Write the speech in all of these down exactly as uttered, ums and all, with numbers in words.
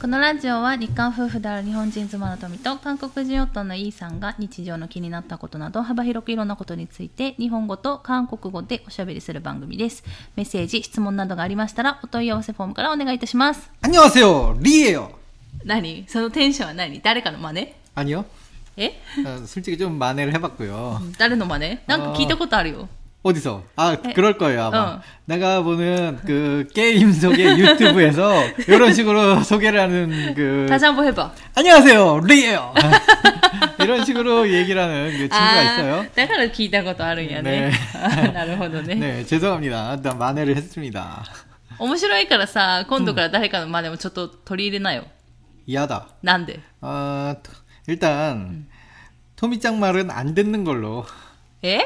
このラジオは日韓夫婦である日本人妻の富と韓国人夫のイーさんが日常の気になったことなど幅広くいろんなことについて日本語と韓国語でおしゃべりする番組です。メッセージ、質問などがありましたらお問い合わせフォームからお願いいたします。 안녕하세요 리예요。 何そのテンションは何？誰かの真似？ 아니요。 え？ 솔직히 좀 만회를 해봤고요。 誰の真似？なんか聞いたことあるよ。 어디서? 아, 에, 그럴 거예요, 아마. 어. 내가 보는 그 게임 속의 유튜브에서 이런 식으로 소개를 하는 그. 다시 한번 해봐. 안녕하세요, 리예요. 이런 식으로 얘기를 하는 그 친구가 아, 있어요. だから聞いたことあるんやね。 네. なるほどね。 네, 죄송합니다. 일단 만회를 했습니다. 面白いからさ、今度から誰かの真似もちょっと取り入れなよ。 이하다. なんで? 어, 일단 음. 토미짱 말은 안 듣는 걸로. え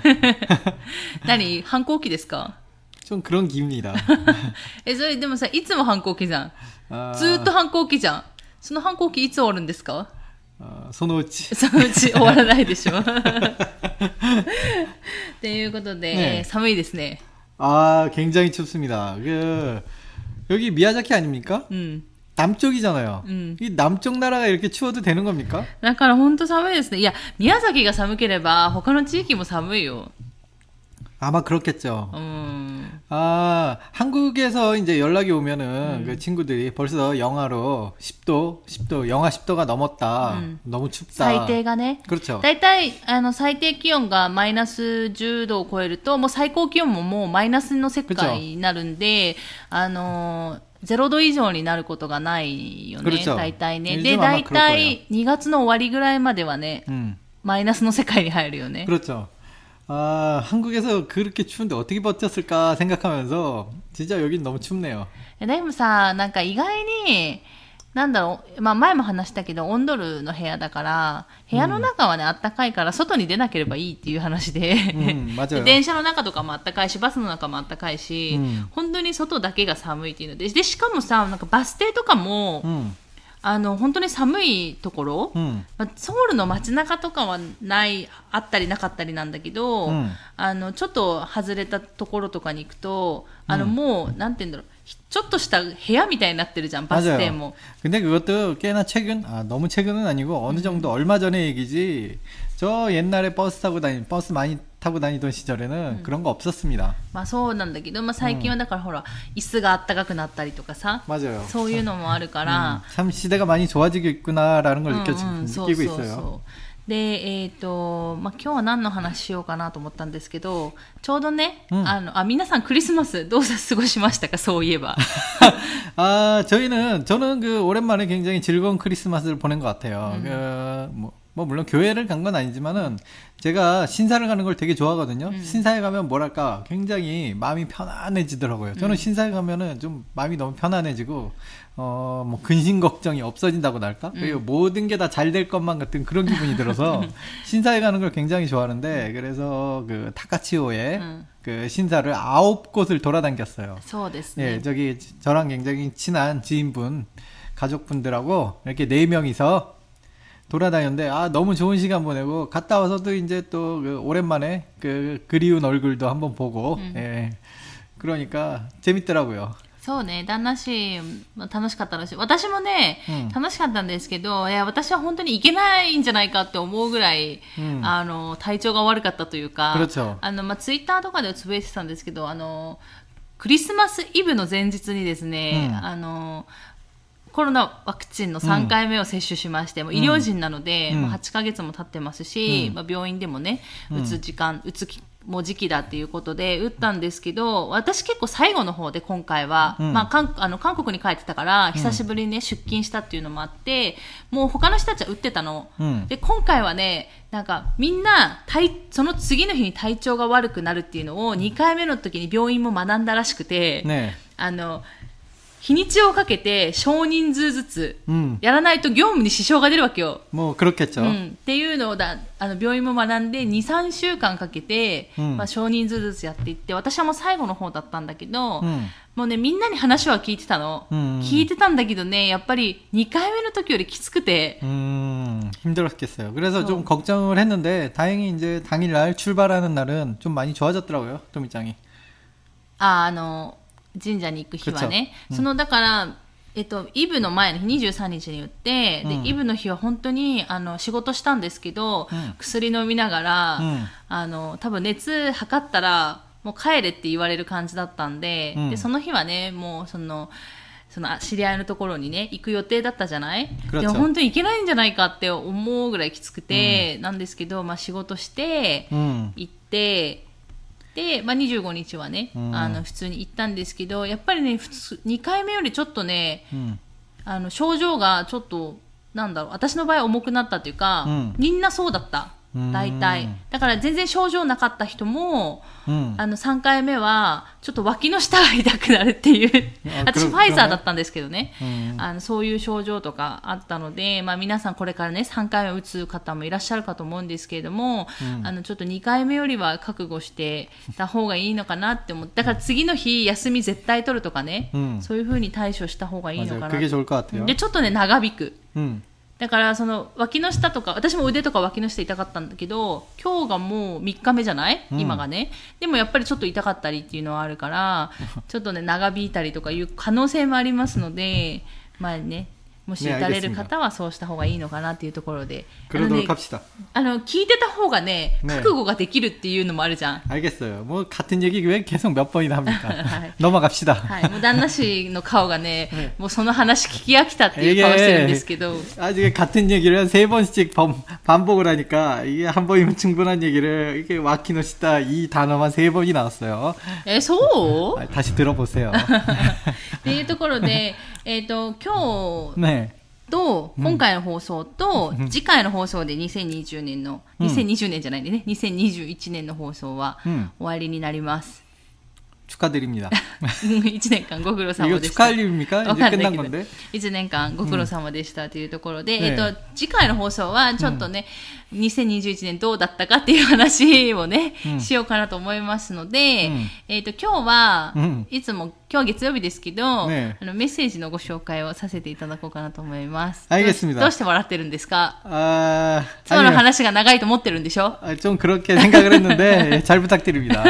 何反抗期ですか? 좀 그런 기분이다. え、それでもさ、いつも反抗期じゃん。 아... ずーっと反抗期じゃん。その反抗期いつ終わるんですか? 어, そのうち。 そのうち終わらないでしょ。ということで、 네. 寒いですね. 아, 굉장히 춥습니다. 그 여기 미야자키 아닙니까? 음. 남쪽이잖아요. 음. 이 남쪽 나라가 이렇게 추워도 되는 겁니까? だから本当寒いですね。いや、宮崎が寒ければ他の地域も寒いよ. 아마 그렇겠죠. 음. 아, 한국에서 이제 연락이 오면은 음. 그 친구들이 벌써 영하로 십 도, 십 도, 영하 십 도가 넘었다. 음. 너무 춥다. 最低がね。 그렇죠. だいたいあの最低気温がマイナスじゅうどを超えると、もう最高気温ももうマイナスの世界になるんで、あのゼロど以上になることがないよね。大体ね。で、大体にがつの終わりぐらいまではね、음. マイナスの世界に入るよね。 그렇죠. 아, 한국에서 그렇게 추운데 어떻게 버텼을까 생각하면서 진짜 여긴 너무 춥네요. でもさ、なんか意外になんだろう、まあ前も話したけど、オンドルの部屋だから、部屋の中はね、あったかいから、外に出なければいいっていう話で、うん、で電車の中とかもあったかいし、バスの中もあったかいし、うん、本当に外だけが寒いっていうので、で、しかもさ、なんかバス停とかも、うん、あの、本当に寒いところ、うんまあ、ソウルの街中とかはない、あったりなかったりなんだけど、うん、あの、ちょっと外れたところとかに行くと、あの、もう、なんて言うんだろう、ちょっとした部屋みたいになってるじゃん、バス停も。 근데 그것도 꽤나 최근, 아, 너무 최근은 아니고 어느 정도 얼마 전의 얘기지. 저 옛날에 버스 타고 다니, 버스 많이 타고 다니던 시절에는 음. 그런 거 없었습니다. まあそうなんだけど、まあ最近はだからほら、椅子があったかくなったりとかさ、 맞아요. そういうのもあるから、 음, 참 시대가 많이 좋아지고 있구나라는 걸 느껴, 음, 음, 느끼고 있어요. そうそうそう。 で、えっと、まあ、今日は何の話しようかなと思ったんですけど、ちょうどね、うん、あの、あ、皆さんクリスマスどう過ごしましたか、そういえば。 아, 저희는, 저는 그 오랜만에 굉장히 즐거운 크리스마스를 보낸 것 같아요. 음. 그, 뭐, 뭐, 물론 교회를 간 건 아니지만은, 제가 신사를 가는 걸 되게 좋아하거든요. 음. 신사에 가면 뭐랄까, 굉장히 마음이 편안해지더라고요. 저는 음. 신사에 가면은 좀 마음이 너무 편안해지고, 어, 뭐, 근심 걱정이 없어진다고나 할까? 음. 그리고 모든 게 다 잘 될 것만 같은 그런 기분이 들어서, 신사에 가는 걸 굉장히 좋아하는데, 그래서 그, 타카치오의 음. 그 신사를 아홉 곳을 돌아다녔어요. 예, 저기, 저랑 굉장히 친한 지인분, 가족분들하고 이렇게 네 명이서 돌아다녔는데, 아, 너무 좋은 시간 보내고, 갔다 와서도 이제 또, 그 오랜만에 그, 그리운 얼굴도 한번 보고, 음. 예. 그러니까, 재밌더라고요. そうね、旦那氏楽しかったらしい。私もね、うん、楽しかったんですけど、いや私は本当に行けないんじゃないかって思うぐらい、うん、あの体調が悪かったというか、あのまあツイッターとかでつぶやいてたんですけど、あのクリスマスイブの前日にですね、うん、あのコロナワクチンのさんかいめを接種しまして、うん、もう医療人なので、うん、もうはちかげつも経ってますし、うんまあ、病院でもね、打つ時間、打つ期もう時期だっていうことで打ったんですけど、私結構最後の方で今回は、うんまあ、韓あの韓国に帰ってたから久しぶりに、ね、出勤したっていうのもあって、もう他の人たちは打ってたの、うん、で今回はね、なんかみんな体その次の日に体調が悪くなるっていうのをにかいめの時に病院も学んだらしくて、ね、あの日にちをかけて少人数ずつやらないと業務に支障が出るわけよ。 もう그렇겠죠。 うん、っていうのをだあの病院も学んでに、さんしゅうかんかけて、うんまあ、少人数ずつやっていって、私はもう最後の方だったんだけど、うん、もうねみんなに話は聞いてたの、うん、聞いてたんだけどね、やっぱりにかいめの時よりきつくて、 음, 힘들었겠어요. 그래서 좀 걱정을 했는데 다행히 이제 당일날 출발하는 날은 좀 많이 좋아졌더라고요, 토미짱이. ああの神社に行く日はね、そのだからえっと、イブの前の日にじゅうさんにちに打って、うん、でイブの日は本当にあの仕事したんですけど、うん、薬飲みながら、うん、あの多分熱測ったらもう帰れって言われる感じだったんで、うん、でその日はねもうそのその知り合いのところにね行く予定だったじゃない。でも本当に行けないんじゃないかって思うぐらいきつくて、うん、なんですけど、まあ、仕事して行って、で、まあ、にじゅうごにちはね、うん、あの普通に行ったんですけど、やっぱりね普通にかいめよりちょっとね、うん、あの症状がちょっとなんだろう、私の場合重くなったっていうか、うん、みんなそうだった。大体だから全然症状なかった人も、うん、あのさんかいめはちょっと脇の下が痛くなるっていう私ファイザーだったんですけどね、うん、あのそういう症状とかあったので、まあ、皆さんこれからねさんかいめ打つ方もいらっしゃるかと思うんですけれども、うん、あのちょっとにかいめよりは覚悟してた方がいいのかなって思って、だから次の日休み絶対取るとかね、うん、そういう風に対処した方がいいのかな。でちょっとね長引く、うんだからその脇の下とか、私も腕とか脇の下痛かったんだけど、今日がもうみっかめじゃない、うん、今がね。でもやっぱりちょっと痛かったりっていうのはあるからちょっとね長引いたりとかいう可能性もありますので、まあねもし打たれる方はそうした方がいいのかなっていうところで、あの、ね、あの聞いてた方がね覚悟ができるっていうのもあるじゃん。 알겠어요. 뭐 같은 얘기 왜 계속 몇 번이나 합니까? 넘어갑시다. はい、もう旦那氏の顔がね、もうその話聞き飽きたっていう顔してるんですけど。 아직 같은 얘기를 세 번씩 반복을 하니까 이게 한 번이면 충분한 얘기를 이게 와키노시다 이 단어만 세 번이 나왔어요. 에, そう? 다시 들어보세요. っていうところで、えっと今日。ねと今回の放送と次回の放送でにせんにじゅうねんの、うん、にせんにじゅうねんじゃないんでねにせんにじゅういちねんの放送は終わりになります。 축하드립니다. いちねんかんご苦労様でした。 축하드립니까? 이제 끝난 건데. いちねんかんご苦労様でしたというところで、うん、えっと次回の放送はちょっとね、うん、にせんにじゅういちねんどうだったかっていう話をね、うん、しようかなと思いますので、うん、えっと今日は、うん、いつも今日月曜日ですけど、ね、あのメッセージのご紹介をさせていただこうかなと思います。 알겠습니다. どうして笑ってるんですか？あ今日の話が長いと思ってるんでしょ？ 좀 그렇게 생각을 했는데 잘 부탁드립니다.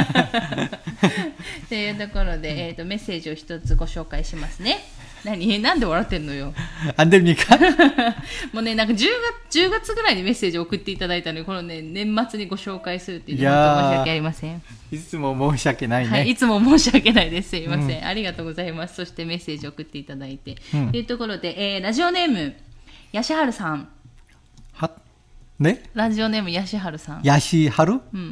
というところで、えーと、メッセージを一つご紹介しますね。何なんで笑ってんのよ。 안 됩니까? もうね、なんかじゅうがつ、じゅうがつぐらいにメッセージを送っていただいたので、このね、年末にご紹介するっていうのは申し訳ありません。 いつも申し訳ないね。 はい、いつも申し訳ないです。すいません、うん。ありがとうございます。そしてメッセージを送っていただいて。と、うん、いうところで、えー、ラジオネーム、ヤシハルさん。 はねラジオネーム、ヤシハルさん。 ヤシハル？うん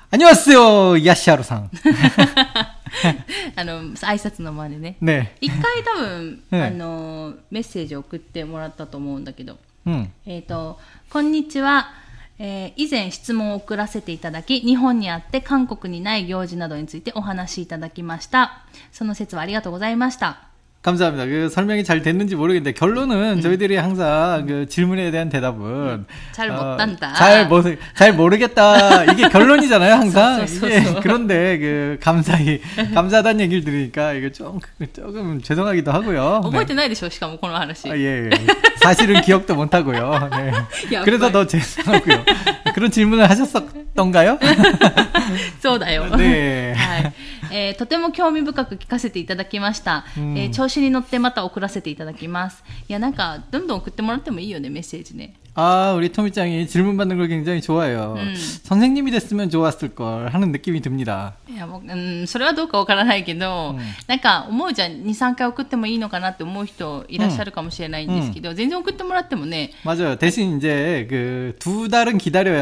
。안녕하세요、ヤシハルさん。 あの挨拶の前でね。 ね。 一回多分、ね、あのメッセージを送ってもらったと思うんだけど。うん、えっとこんにちは、えー。以前質問を送らせていただき、日本にあって韓国にない行事などについてお話しいただきました。その説はありがとうございました。 감사합니다. 그 설명이 잘 됐는지 모르겠는데 결론은 음. 저희들이 항상 음. 그 질문에 대한 대답은 잘 못한다. 어, 잘, 모, 잘 모르겠다. 이게 결론이잖아요, 항상. 이게 그런데 그 감사히 감사하다는 얘기를 들으니까 이거 좀 조금 죄송하기도 하고요. 覚えてないでしょ、しかもこの話. 아, 예, 예. 사실은 기억도 못 하고요. 네. 그래서 더 죄송하고요. 그런 질문을 하셨었던가요? そうだよ。ね。はい。えー、とても興味深く聞かせていただきました、うんえー、調子に乗ってまた送らせていただきます。いやなんかどんどん送ってもらってもいいよねメッセージね。 아, 우리 토미짱이 질문 받는 걸 굉장히 좋아해요. 음. 선생님이 됐으면 좋았을 걸 하는 느낌이 듭니다. いやもう、うん、それはどうかわからないけど、うん、なんか思うじゃん、にさんかい送ってもいいのかなって思う人いらっしゃるかもしれないんですけど、 음. 全然送ってもらってもね。 맞아요. 대신 이제 그 두 달은 기다려야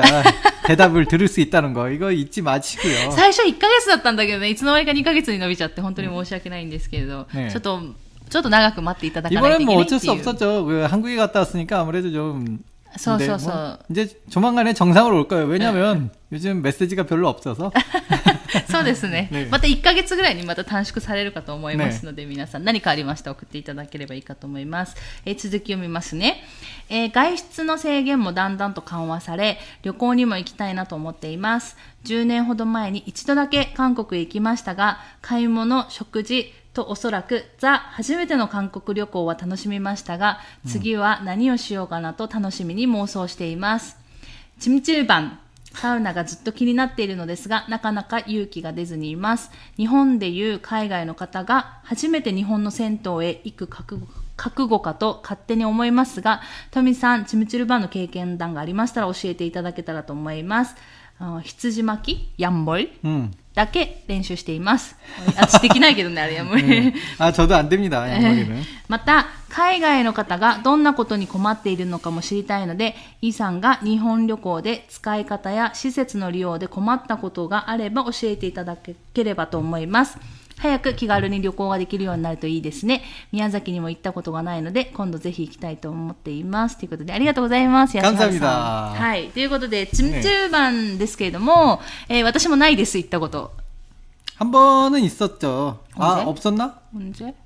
대답을 들을 수 있다는 거 이거 잊지 마시고요. 最初いっかげつだったんだけどね、いつの間にかにかげつに伸びちゃって本当に申し訳ないんですけれど、네. ちょっとちょっと長く待っていただかないといけないっていう。 이번엔 뭐 어쩔 수 없었죠. 그 한국에 갔다 왔으니까 아무래도 좀 そうそうそう。 이제 조만간에 정상으로 올 거예요. 왜냐면 요즘 메시지가 별로 없어서. そうですね。ね、またいっかげつぐらいにまた短縮されるかと思いますので、ね、皆さん何かありましたら送っていただければいいかと思います。えー、続き読みますね、えー。外出の制限もだんだんと緩和され、旅行にも行きたいなと思っています。じゅうねんほど前に一度だけ韓国へ行きましたが、買い物、食事とおそらくザ初めての韓国旅行は楽しみましたが、次は何をしようかなと楽しみに妄想しています。チムチルバンサウナがずっと気になっているのですが、なかなか勇気が出ずにいます。日本でいう海外の方が初めて日本の銭湯へ行く覚悟覚悟かと勝手に思いますが、トミさん、チムチルバンの経験談がありましたら教えていただけたらと思います。あ羊巻きヤンボリ、うん、だけ練習しています。私できないけどね、あれヤンボリ。 うん、あ、저도 안 됩니다、ヤンボリ는。 また、海外の方がどんなことに困っているのかも知りたいので、イさんが日本旅行で使い方や施設の利用で困ったことがあれば教えていただければと思います。早く気軽に旅行ができるようになるといいですね。宮崎にも行ったことがないので、今度ぜひ行きたいと思っています。ということで、ありがとうございます。 安原さん。 はい。ということで、チムチューバンですけれども、ねえー、私もないです、行ったこと。 한 번은 있었죠. 아, 없었나? 언제?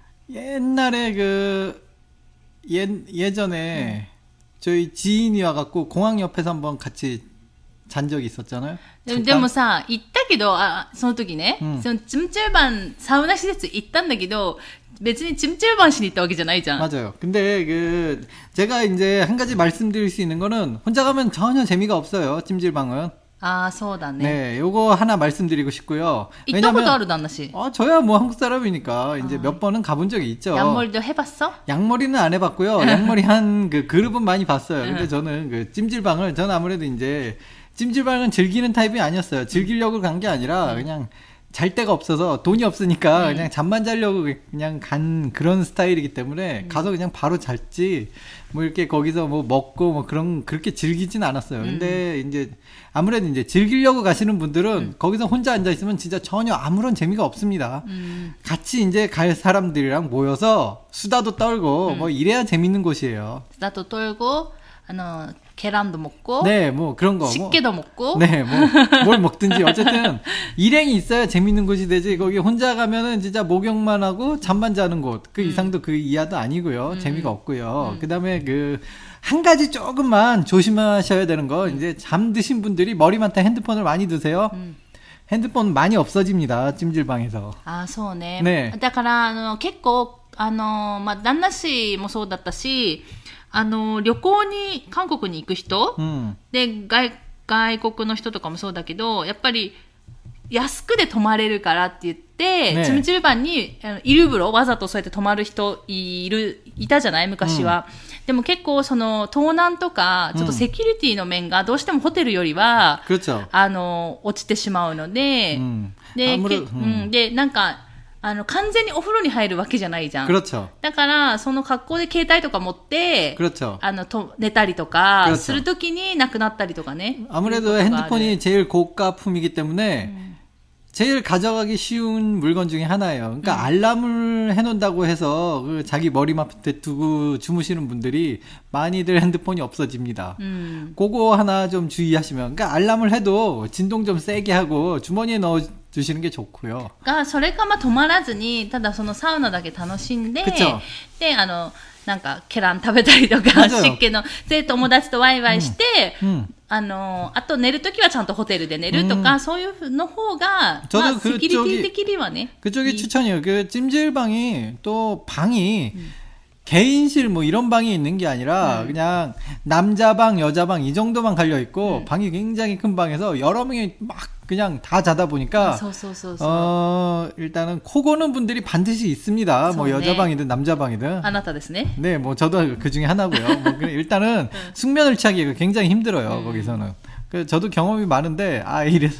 옛날에 그, 예, 예전에 음. 저희 지인이 와갖고 공항 옆에서 한번 같이 잔 적이 있었잖아요. でもさ、行ったけど、あ、その時ね、うん、その찜질방サウナ施設行ったんだけど、別に찜질방しに行ったわけじゃないじゃん. 맞아요. 근데 그 제가 이제 한 가지 말씀드릴 수 있는 거는 혼자 가면 전혀 재미가 없어요. 찜질방은. 아, そうだね. 네, 요거 하나 말씀드리고 싶고요. 왜냐면 아, 단나씨. 어, 저야 뭐 한국 사람이니까 이제 아. 몇 번은 가본 적이 있죠. 양머리도 해봤어? 양머리는 안 해봤고요. 양머리 한 그 그룹은 많이 봤어요. 근데 저는 그 찜질방을 저는 아무래도 이제 찜질방은 즐기는 타입이 아니었어요. 즐기려고 간 게 아니라 그냥 잘 데가 없어서 돈이 없으니까 그냥 잠만 자려고 그냥 간 그런 스타일이기 때문에 가서 그냥 바로 잤지 뭐 이렇게 거기서 뭐 먹고 뭐 그런 그렇게 즐기진 않았어요. 근데 이제 아무래도 이제 즐기려고 가시는 분들은 음. 거기서 혼자 앉아 있으면 진짜 전혀 아무런 재미가 없습니다. 음. 같이 이제 갈 사람들이랑 모여서 수다도 떨고 음. 뭐 이래야 재밌는 곳이에요. 수다도 떨고, 아, 계란도 먹고, 네, 뭐 그런 거, 식게도 뭐, 먹고, 네, 뭐 뭘 먹든지 어쨌든 일행이 있어야 재밌는 곳이 되지. 거기 혼자 가면은 진짜 목욕만 하고 잠만 자는 곳, 그 음. 이상도 그 이하도 아니고요. 음. 재미가 없고요. 음. 그다음에 그 한 가지 조금만 조심하셔야 되는 거, 음. 이제 잠드신 분들이 머리맡에 핸드폰을 많이 드세요. 음. 핸드폰 많이 없어집니다. 찜질방에서. 아, そうね. 네. だからあの結構あのまあ旦那氏もそうだったし。あの、旅行に、韓国に行く人、うん、で、外、外国の人とかもそうだけど、やっぱり、安くで泊まれるからって言って、ね、チムチルバンに、あのイルブロ、わざとそうやって泊まる人いる、いたじゃない昔は、うん。でも結構、その、盗難とか、ちょっとセキュリティの面が、どうしてもホテルよりは、うん、あの、落ちてしまうので、うん、で、けうん、で、なんか、あの、完全にお風呂に入るわけじゃないじゃん。 그렇죠。 だから、その格好で携帯とか持って、 그렇죠。 あの、と、寝たりとか、するときになくなったりとかね。 아무래도 핸드폰이 제일 고가품이기 때문에, 음. 제일 가져가기 쉬운 물건 중에 하나예요. 그러니까 음. 알람을 해놓는다고 해서 그 자기 머리맡에 두고 주무시는 분들이 많이들 핸드폰이 없어집니다. 음. 그거 하나 좀 주의하시면, 그러니까 알람을 해도 진동 좀 세게 하고 주머니에 넣어 주시는 게 좋고요. 그러니까 それかまあ止まらずにただそのサウナだけ楽しんで、であのなんかケラン食べたりとか湿気ので友達とワイワイして、うんうん、あのあと寝るときはちゃんとホテルで寝るとか、うん、そういうの方がまあセキュリティ的にはね。 그쪽이 추천이에요. 그 찜질방이 또 방이 음. 개인실 뭐 이런 방이 있는 게 아니라 음. 그냥 남자방 여자방 이 정도만 갈려 있고 음. 방이 굉장히 큰 방에서 여러 명이 막 그냥 다 자다 보니까 아, 소소소소. 어 일단은 코 고는 분들이 반드시 있습니다. 뭐 여자방이든 남자방이든. 아나타ですね. 네, 뭐 저도 그 중에 하나고요. 뭐 일단은 숙면을 취하기가 굉장히 힘들어요. 음. 거기서는. 그 저도 경험이 많은데 아 이래서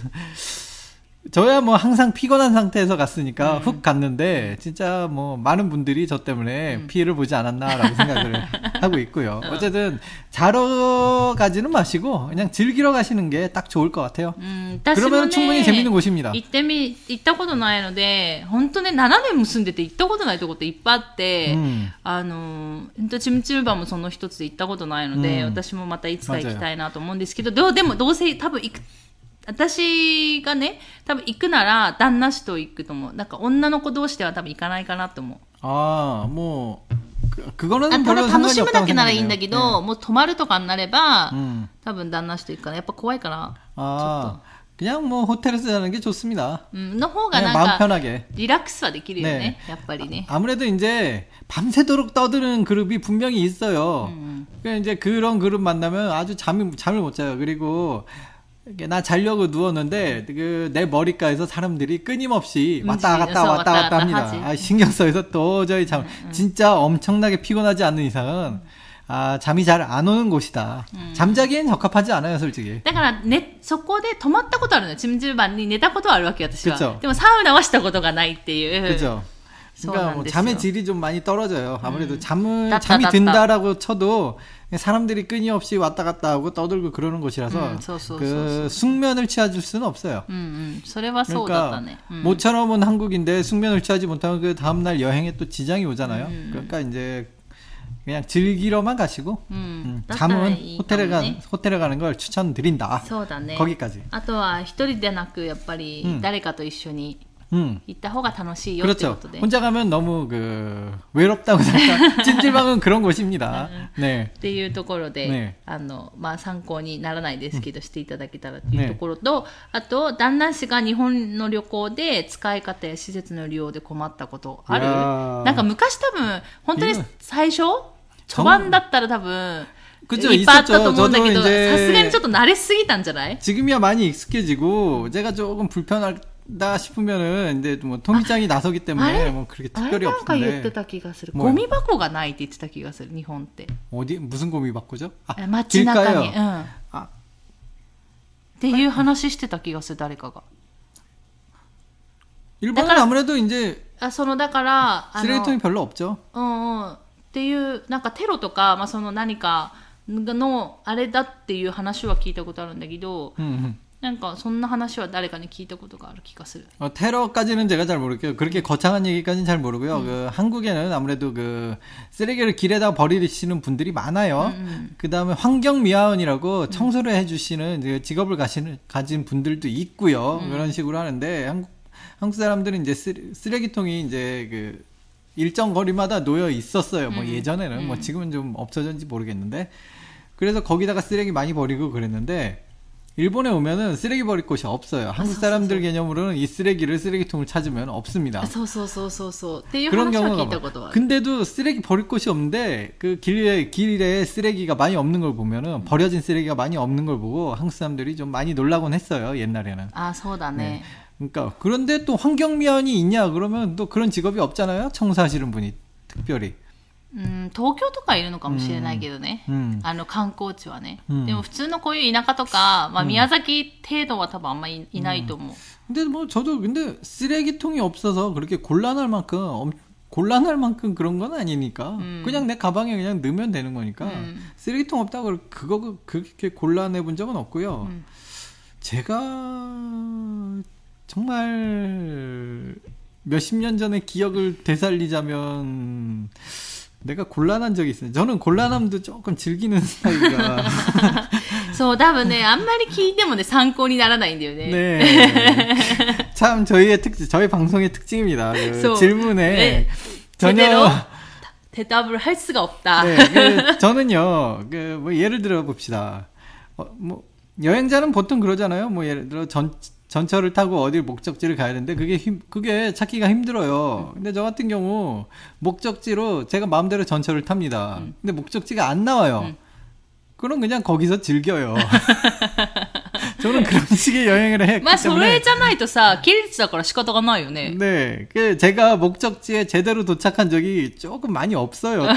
저야 뭐 항상 피곤한 상태에서 갔으니까 음. 훅 갔는데 진짜 뭐 많은 분들이 저 때문에 음. 피해를 보지 않았나라고 생각을 하고 있고요. 어쨌든 자러 가지는 마시고 그냥 즐기러 가시는 게 딱 좋을 것 같아요. 음, 그러면 충분히 재밌는 곳입니다. 行ってみ、行ったことないので本当ねななねんも住んでて行ったことないとこっていっぱいあって、うん、あのチムチルバンもその一つで行ったことないので、うん、私もまたいつか行きたいなと思うんですけど、どうでもどうせ多分行く私がね、多分行くなら旦那氏と行くと思う。なんか女の子同士では多分行かないかなと思う。 ああ、もう、그거는 ただ楽しむだけならいいんだけど、もう泊まるとかになれば、うん、多分旦那氏と行くからやっぱ怖いから。 ああ、그냥 뭐 호텔에서 자는 게 좋습니다. 음, の方がなんかリラックスはできるよね。やっぱりね。 아무래도 이제 밤새도록 떠드는 그룹이 분명히 있어요. 음. 그러니까 이제 그런 그룹 만나면 아주 잠이 잠을 못 자요. 그리고 나 자려고 누웠는데 그 내 머리가에서 사람들이 끊임없이 왔다 갔다 왔다 갔다 합니다. 아, 신경 써서 도저히 잠 진짜 엄청나게 피곤하지 않는 이상은 아, 잠이 잘 안 오는 곳이다. 음. 잠자기엔 적합하지 않아요, 솔직히. だからね、そこで止まったことあるの。찜질방に寝たことはあるわけ、私は。でもサウナはしたことがないっていう。 그죠. 그러니까 뭐 잠의 질이 좀 많이 떨어져요. 아무래도 음. 잠을 따따, 잠이 따따. 든다라고 쳐도 사람들이 끊임없이 왔다 갔다 하고 떠들고 그러는 곳이라서 음, 소, 소, 그 소, 소. 숙면을 취해줄 수는 없어요. 음, 음. 그러니까 음. 모처럼 온 한국인데 숙면을 취하지 못하면 그 다음날 여행에 또 지장이 오잖아요. 음. 그러니까 이제 그냥 즐기러만 가시고 음. 음. 잠은 호텔에 가 호텔에 가는 걸 추천드린다. 거기까지. あとは一人でなくやっぱり誰かと一緒に 음. 行った方が楽しいよってことで 혼자 가면 너무 그 외롭다고 생각. 찜질방은 그런 곳입니다. 네. っていうところで、ね、あのまあ参考にならないですけど、うん、していただけたらっていうところと、ね、あと旦那氏が日本の旅行で使い方や施設の利用で困ったことある？なんか昔多分本当に最初序盤だったら多分 그죠, いっぱいあったと思うんだけど、さすがにちょっと慣れすぎたんじゃない? 지금이야 많이 익숙해지고 제가 조금 불편하다 싶으면은 근데 뭐 통기장이 나서기 때문에 뭐 그렇게 특별히 없는데. あれなんか言ってた気がする。ゴミ箱がないって言ってた気がする。日本って。 어디 무슨 고미바꾸죠? 아, 街中に。うん。あ。っていう話してた気がする誰かが。 일본은 아무래도 이제 あ、そのだから 쓰레기통이 별로 없죠. うんうん。っていうなんかテロとかまあその何かのあれだっていう話は聞いたことあるんだけど、うんうん、なんかそんな話は誰かに聞いたことがある気がする。 어, 테러까지는 제가 잘 모르겠고요. 그렇게 거창한 얘기까지는 잘 모르고요. 음. 그 한국에는 아무래도 그 쓰레기를 길에다 버리시는 분들이 많아요. 음, 음. 그 다음에 환경미화원이라고 청소를 음. 해주시는 직업을 가시는, 가진 분들도 있고요. 음. 그런 식으로 하는데 한국, 한국 사람들은 이제 쓰레, 쓰레기통이 이제 그 일정 거리마다 놓여 있었어요. 뭐 음, 예전에는 음. 뭐 지금은 좀 없어졌는지 모르겠는데 그래서 거기다가 쓰레기 많이 버리고 그랬는데 일본에 오면은 쓰레기 버릴 곳이 없어요. 한국 사람들 개념으로는 이 쓰레기를 쓰레기통을 찾으면 없습니다. 그런 경우가 많아요. 근데도 쓰레기 버릴 곳이 없는데 그 길에 길에 쓰레기가 많이 없는 걸 보면은 버려진 쓰레기가 많이 없는 걸 보고 한국 사람들이 좀 많이 놀라곤 했어요. 옛날에는. 아, 소다네. 그러니까 그런데 또 환경미화원이 있냐 그러면 또 그런 직업이 없잖아요. 청소하시는 분이 특별히. 음, 東京とかいるのかもしれないけどね。あの観光地はね。でも普通のこういう田舎とか、まあ宮崎程度は多分あんまりいないと思う。 근데 뭐 저도 근데 쓰레기통이 없어서 그렇게 곤란할 만큼 곤란할 만큼 그런 건 아니니까 음. 그냥 내 가방에 그냥 넣으면 되는 거니까 음. 쓰레기통 없다고 그거 그렇게 곤란해 본 적은 없고요. 음. 제가 정말 몇십 년 전의 기억을 되살리자면 내가 곤란한 적이 있어요. 저는 곤란함도 조금 즐기는 스타일이라. そう、多分ね、あんまり聞いてもね、参考にならないんだよね。 네. 참 저희의 특징, 저희 방송의 특징입니다. 그 질문에 네. 전혀 대답을 할 수가 없다. 네, 그 저는요, 그 뭐 예를 들어 봅시다. 어, 뭐 여행자는 보통 그러잖아요. 뭐 예를 들어 전 전철을 타고 어딜 목적지를 가야 되는데 그게 힘, 그게 찾기가 힘들어요. 근데 저 같은 경우 목적지로 제가 마음대로 전철을 탑니다. 음. 근데 목적지가 안 나와요. 음. 그럼 그냥 거기서 즐겨요. 저는 그런 식의 여행을 했기 때문에. まあそれじゃないとさ、切れてたから仕方がないよね. 네, 그 제가 목적지에 제대로 도착한 적이 조금 많이 없어요. 또.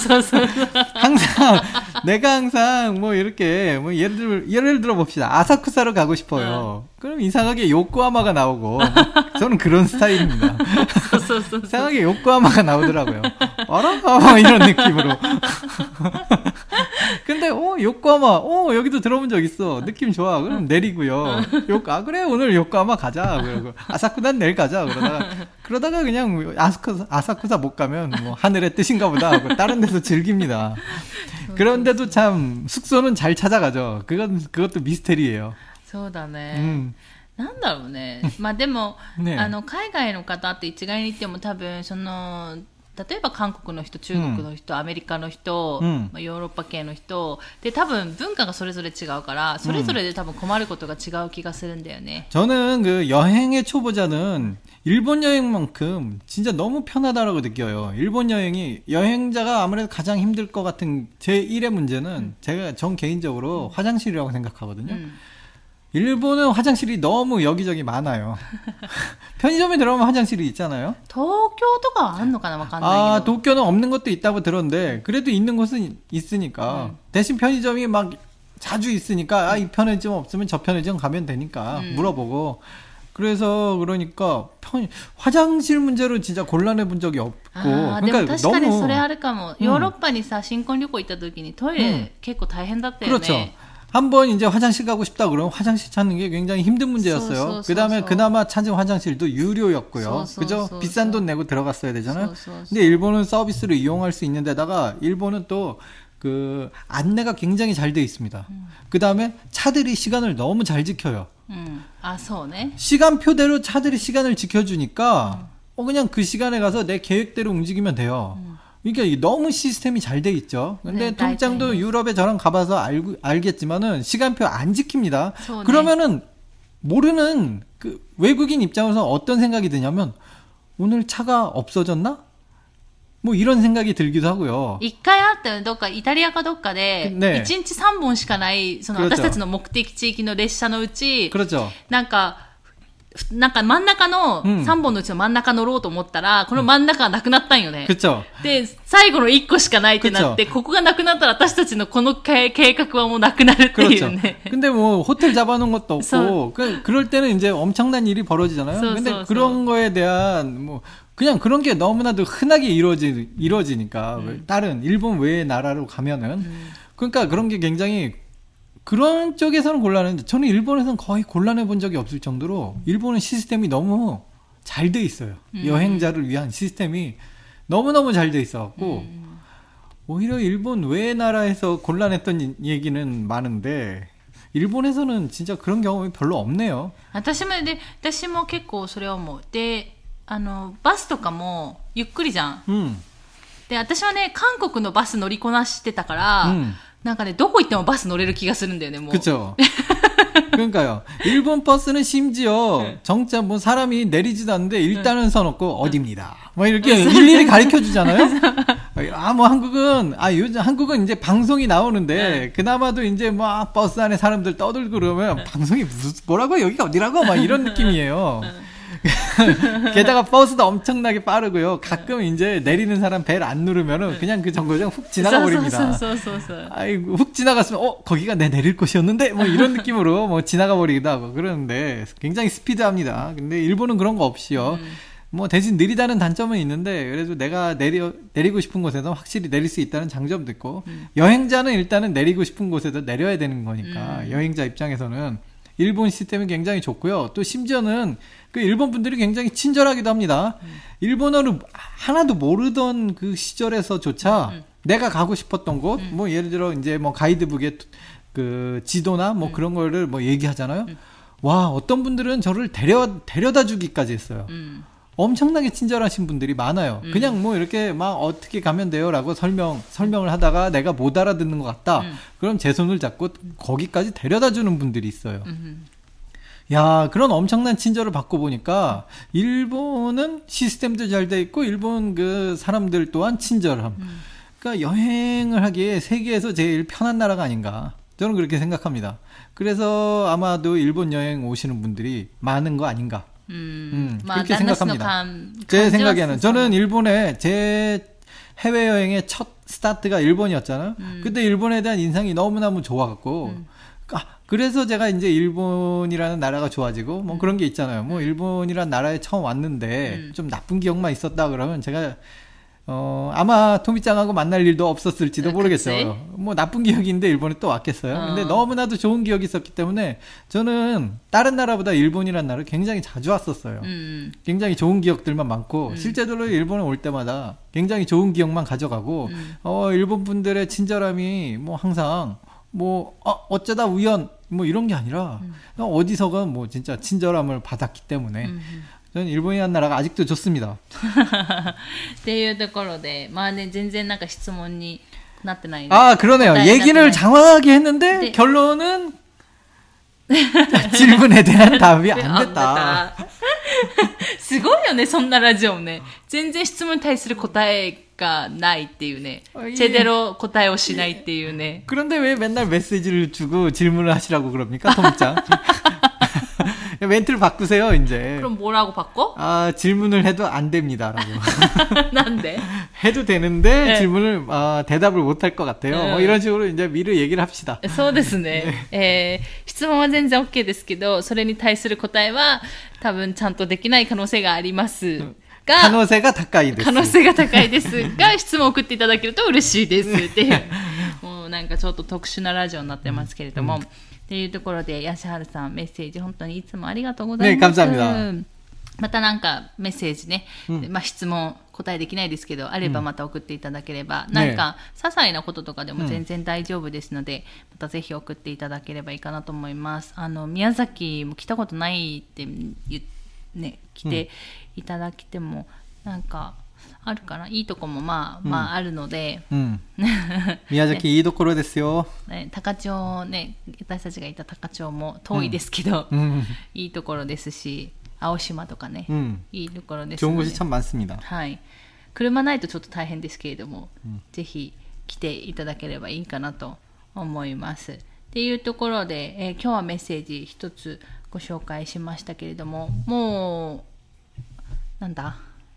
항상 내가 항상 뭐 이렇게 뭐 예를 들 예를 들어 봅시다. 아사쿠사로 가고 싶어요. 그럼 이상하게 요코하마가 나오고 저는 그런 스타일입니다. 이상하게 요코하마가 나오더라고요. 알아? 이런 느낌으로. 근데 어 요코하마 어 여기도 들어본 적 있어. 느낌 좋아. 그럼 내리고요. 요, 아 그래 오늘 요코하마 가자. 그러고 아사쿠사는 내일 가자. 그러다가 그러다가 그냥 아사쿠사, 아사쿠사 못 가면 뭐 하늘의 뜻인가 보다 하고 다른 데서 즐깁니다. 그런데도 참 숙소는 잘 찾아가죠. 그건 그것도 미스테리예요. そうだね。うん、なんだろうね。まあでも、ね、あの海外の方って一概に言っても多分その例えば韓国の人、中国の人、うん、アメリカの人、うん、まあ、ヨーロッパ系の人で多分文化がそれぞれ違うからそれぞれで多分困ることが違う気がするんだよね。 저는 그 여행의 초보자는 일본 여행만큼 진짜 너무 편하다라고 느껴요. 일본 여행이 여행자가 아무래도 가장 힘들 것 같은 제일의 문제는 음. 제가 전 개인적으로 음. 화장실이라고 생각하거든요. 음. 일본은 화장실이 너무 여기저기 많아요. 편의점에 들어가면 화장실이 있잖아요. 도쿄도가あるのかな? わかんないけど. 아, 도쿄는 없는 것도 있다고 들었는데 그래도 있는 곳은 있으니까. 음. 대신 편의점이 막 자주 있으니까 아, 이 편의점 없으면 저 편의점 가면 되니까 음. 물어보고. 그래서 그러니까 편 화장실 문제로 진짜 곤란해 본 적이 없고. 아, 그러니까 너무. それあるかも. 유럽にさ 신婚旅行行った時にトイレ結構大変だったよね. 그렇죠. 한번 이제 화장실 가고 싶다 그러면 화장실 찾는 게 굉장히 힘든 문제였어요. 그 다음에 그나마 찾은 화장실도 유료였고요. 그죠? 비싼 돈 내고 들어갔어야 되잖아요. 근데 일본은 서비스를 이용할 수 있는 데다가 일본은 또 그 안내가 굉장히 잘 돼 있습니다. 음. 그 다음에 차들이 시간을 너무 잘 지켜요. 음. 아, 소네. 시간표대로 차들이 시간을 지켜주니까 음. 어, 그냥 그 시간에 가서 내 계획대로 움직이면 돼요. 음. 그러니까 너무 시스템이 잘 돼 있죠. 근데 네, 통장도 유럽에 저랑 가봐서 알고, 알겠지만은 시간표 안 지킵니다. 소네. 그러면은 모르는 그 외국인 입장에서 어떤 생각이 드냐면 오늘 차가 없어졌나? 뭐 이런 생각이 들기도 하고요. 一回あったよね。どっかイタリアかどっかで、ね、いちにちさんぼんしかないその私たちの目的地域の列車のうち、なんかなんか真ん中のさんぼんのうちの真ん中乗ろうと思ったら、うん、この真ん中がなくなったんよね。で、最後のいっこしかないってなって、ここがなくなったら私たちのこの計画はもうなくなるっていうね。 근데 뭐 호텔 잡아놓은 것도 없고, 그, 그럴 때는 이제 엄청난 일이 벌어지잖아요. 근데 그런 거에 대한 뭐 그냥 그런 게 너무나도 흔하게 이루어지, 이루어지니까 음. 다른 일본 외의 나라로 가면은 음. 그러니까 그런 게 굉장히 그런 쪽에서는 곤란한데 저는 일본에서는 거의 곤란해 본 적이 없을 정도로 일본은 시스템이 너무 잘 돼 있어요. 음. 여행자를 위한 시스템이 너무너무 잘 돼 있어갖고 음. 오히려 일본 외의 나라에서 곤란했던 얘기는 많은데 일본에서는 진짜 그런 경험이 별로 없네요. 私もで、私も結構それを思う。であのバスとかもゆっくりじゃん、うん、で私はね韓国のバス乗りこなしてたから、うん、なんかねどこ行ってもバス乗れる気がするんだよねもう。 그렇죠. 그러니까요. 일본 버스는 심지어 정자 뭐 사람이 내리지도 않는데 일단은 써놓고 어디입니다. 뭐 이렇게 일일이 가르쳐 주잖아요. 아, 뭐 한국은 아 요즘 한국은 이제 방송이 나오는데 그나마도 이제 막 버스 안에 사람들 떠들고 그러면 방송이 무슨 뭐라고 여기가 어디라고 막 이런 느낌이에요. 게다가 버스도 엄청나게 빠르고요. 가끔 이제 내리는 사람 벨 안 누르면은 그냥 그 정거장 훅 지나가 버립니다. 아이고 훅 지나갔으면 어 거기가 내 내릴 곳이었는데 뭐 이런 느낌으로 뭐 지나가 버리기도 하고 그러는데 굉장히 스피드합니다. 근데 일본은 그런 거 없이요. 음. 뭐 대신 느리다는 단점은 있는데 그래도 내가 내려 내리고 싶은 곳에서 확실히 내릴 수 있다는 장점도 있고 음. 여행자는 일단은 내리고 싶은 곳에도 내려야 되는 거니까 음. 여행자 입장에서는 일본 시스템이 굉장히 좋고요. 또 심지어는 그 일본 분들이 굉장히 친절하기도 합니다. 음. 일본어를 하나도 모르던 그 시절에서조차 음. 내가 가고 싶었던 곳, 음. 뭐 예를 들어 이제 뭐 가이드북에 그 지도나 뭐 음. 그런 거를 뭐 얘기하잖아요. 음. 와, 어떤 분들은 저를 데려 데려다 주기까지 했어요. 음. 엄청나게 친절하신 분들이 많아요. 음. 그냥 뭐 이렇게 막 어떻게 가면 돼요라고 설명 설명을 하다가 내가 못 알아듣는 것 같다. 음. 그럼 제 손을 잡고 거기까지 데려다 주는 분들이 있어요. 음. 야, 그런 엄청난 친절을 받고 보니까 일본은 시스템도 잘 돼 있고 일본 그 사람들 또한 친절함. 음. 그러니까 여행을 하기에 세계에서 제일 편한 나라가 아닌가. 저는 그렇게 생각합니다. 그래서 아마도 일본 여행 오시는 분들이 많은 거 아닌가. 음, 음 그렇게 생각합니다. 감, 제 생각에는 저는 일본에 제 해외여행의 첫 스타트가 일본이었잖아요. 음. 그때 일본에 대한 인상이 너무너무 좋아갖고 음. 아, 그래서 제가 이제 일본이라는 나라가 좋아지고 뭐 음. 그런 게 있잖아요. 뭐 일본이라는 나라에 처음 왔는데 음. 좀 나쁜 기억만 있었다 그러면 제가 어, 아마 토미짱하고 만날 일도 없었을지도 모르겠어요. 그치? 뭐 나쁜 기억인데 일본에 또 왔겠어요. 어. 근데 너무나도 좋은 기억이 있었기 때문에 저는 다른 나라보다 일본이라는 나라를 굉장히 자주 왔었어요. 음. 굉장히 좋은 기억들만 많고 음. 실제로 일본에 올 때마다 굉장히 좋은 기억만 가져가고 음. 어, 일본 분들의 친절함이 뭐 항상 뭐 어, 어쩌다 우연 뭐 이런 게 아니라 음. 어디서건 뭐 진짜 친절함을 받았기 때문에 음. 저는 일본이라는 나라가 아직도 좋습니다. っていうところで、まあね、全然なんか質問になってないね。 아, 그러네요. 얘기를 장황하게 했는데 네. 결론은 질문에 대한 답이 안 됐다. すごいよね、そんなラジオね。全然質問に対する答えががないっていうね。제대로答えをしないっていうね。 그런데 왜 맨날 메시지를 주고 질문을 하시라고 그럽니까, 토미짱? 멘트를 바꾸세요, 이제. 그럼 뭐라고 바꿔? 아, 질문을 해도 안 됩니다라고. 난데? 해도 되는데 네. 질문을 아, 대답을 못 할 것 같아요. 네. 뭐 이런 식으로 이제 미리 얘기를 합시다. そうですね。えー、質問は全然 OK ですけど、それに対する答えは多分ちゃんとできない可能性がありますが、 可能性が高いです。 可能性が高いですが、質問を送っていただけると嬉しいですっていう。もうなんかちょっと特殊なラジオになってますけれども。うんうんっていうところで、ヤシハルさんメッセージ本当にいつもありがとうございます。 ね、감사합니다。 またなんかメッセージね、うん、まあ質問答えできないですけど、あればまた送っていただければ、うん、なんか些細なこととかでも全然大丈夫ですので、うん、またぜひ送っていただければいいかなと思います。あの宮崎も来たことないって言ね来ていただけても、うん、なんかあるかな、いいとこもまあ、まああるので、うん、 宮崎いいところですよ。 ね、高千穂ね、私たちがいた高千穂も遠いですけど、うん、いいところですし、青島とかね、うん、いいところですので、 좋은곳이참많습니다。 はい、車ないとちょっと大変ですけれども、うん、ぜひ来ていただければいいかなと思います。っていうところで、えー、今日はメッセージ一つご紹介しましたけれども、もうなんだ。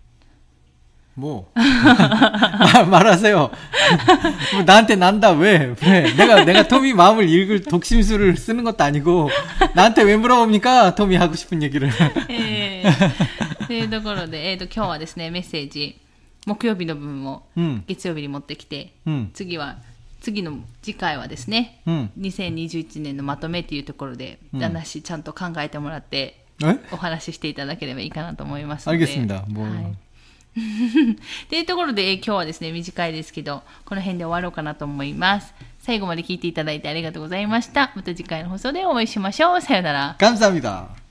뭐 말하세요. 뭐 나한테 난다. 왜? 왜? 내가 내가 토미 마음을 읽을 독심술을 쓰는 것도 아니고 나한테 왜 물어봅니까? 토미 하고 싶은 얘기를. というところで、えーと今日はですねメッセージ木曜日の分を月曜日に持ってきて、うん、次は次の次回はですね、うん、にせんにじゅういちねんのまとめというところで、うん、話ちゃんと考えてもらってお話ししていただければいいかなと思いますので。 알겠습니다。もう。はいっていうところで、今日はですね短いですけどこの辺で終わろうかなと思います。最後まで聞いていただいてありがとうございました。また次回の放送でお会いしましょう。さよなら。 감사합니다。